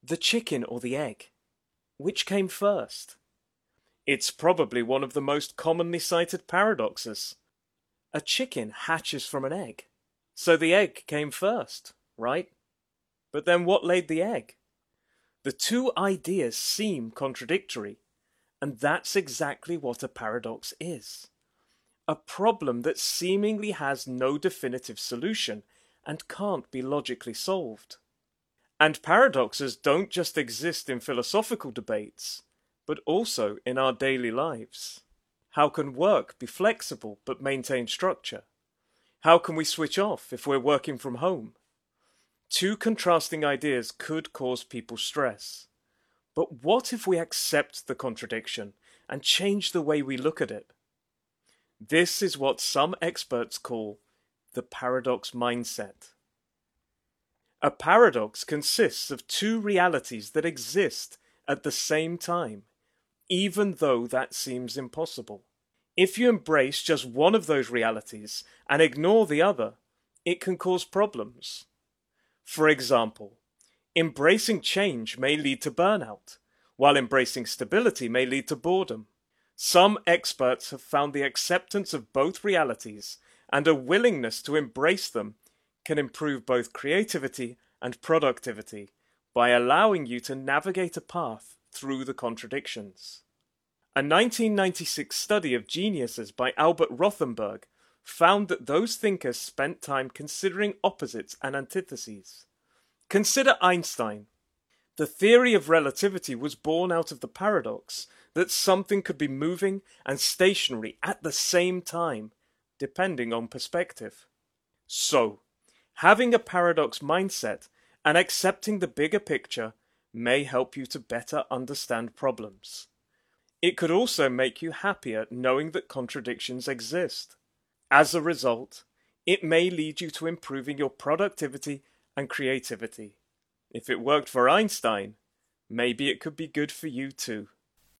The chicken or the egg? Which came first? It's probably one of the most commonly cited paradoxes. A chicken hatches from an egg, so the egg came first, right? But then what laid the egg? The two ideas seem contradictory, and that's exactly what a paradox is. A problem that seemingly has no definitive solution and can't be logically solved. And paradoxes don't just exist in philosophical debates, but also in our daily lives. How can work be flexible but maintain structure? How can we switch off if we're working from home? Two contrasting ideas could cause people stress. But what if we accept the contradiction and change the way we look at it? This is what some experts call the paradox mindset. A paradox consists of two realities that exist at the same time, even though that seems impossible. If you embrace just one of those realities and ignore the other, it can cause problems. For example, embracing change may lead to burnout, while embracing stability may lead to boredom. Some experts have found the acceptance of both realities and a willingness to embrace them can improve both creativity and productivity by allowing you to navigate a path through the contradictions. A 1996 study of geniuses by Albert Rothenberg found that those thinkers spent time considering opposites and antitheses. Consider Einstein. The theory of relativity was born out of the paradox that something could be moving and stationary at the same time, depending on perspective. So, having a paradox mindset and accepting the bigger picture may help you to better understand problems. It could also make you happier knowing that contradictions exist. As a result, it may lead you to improving your productivity and creativity. If it worked for Einstein, maybe it could be good for you too.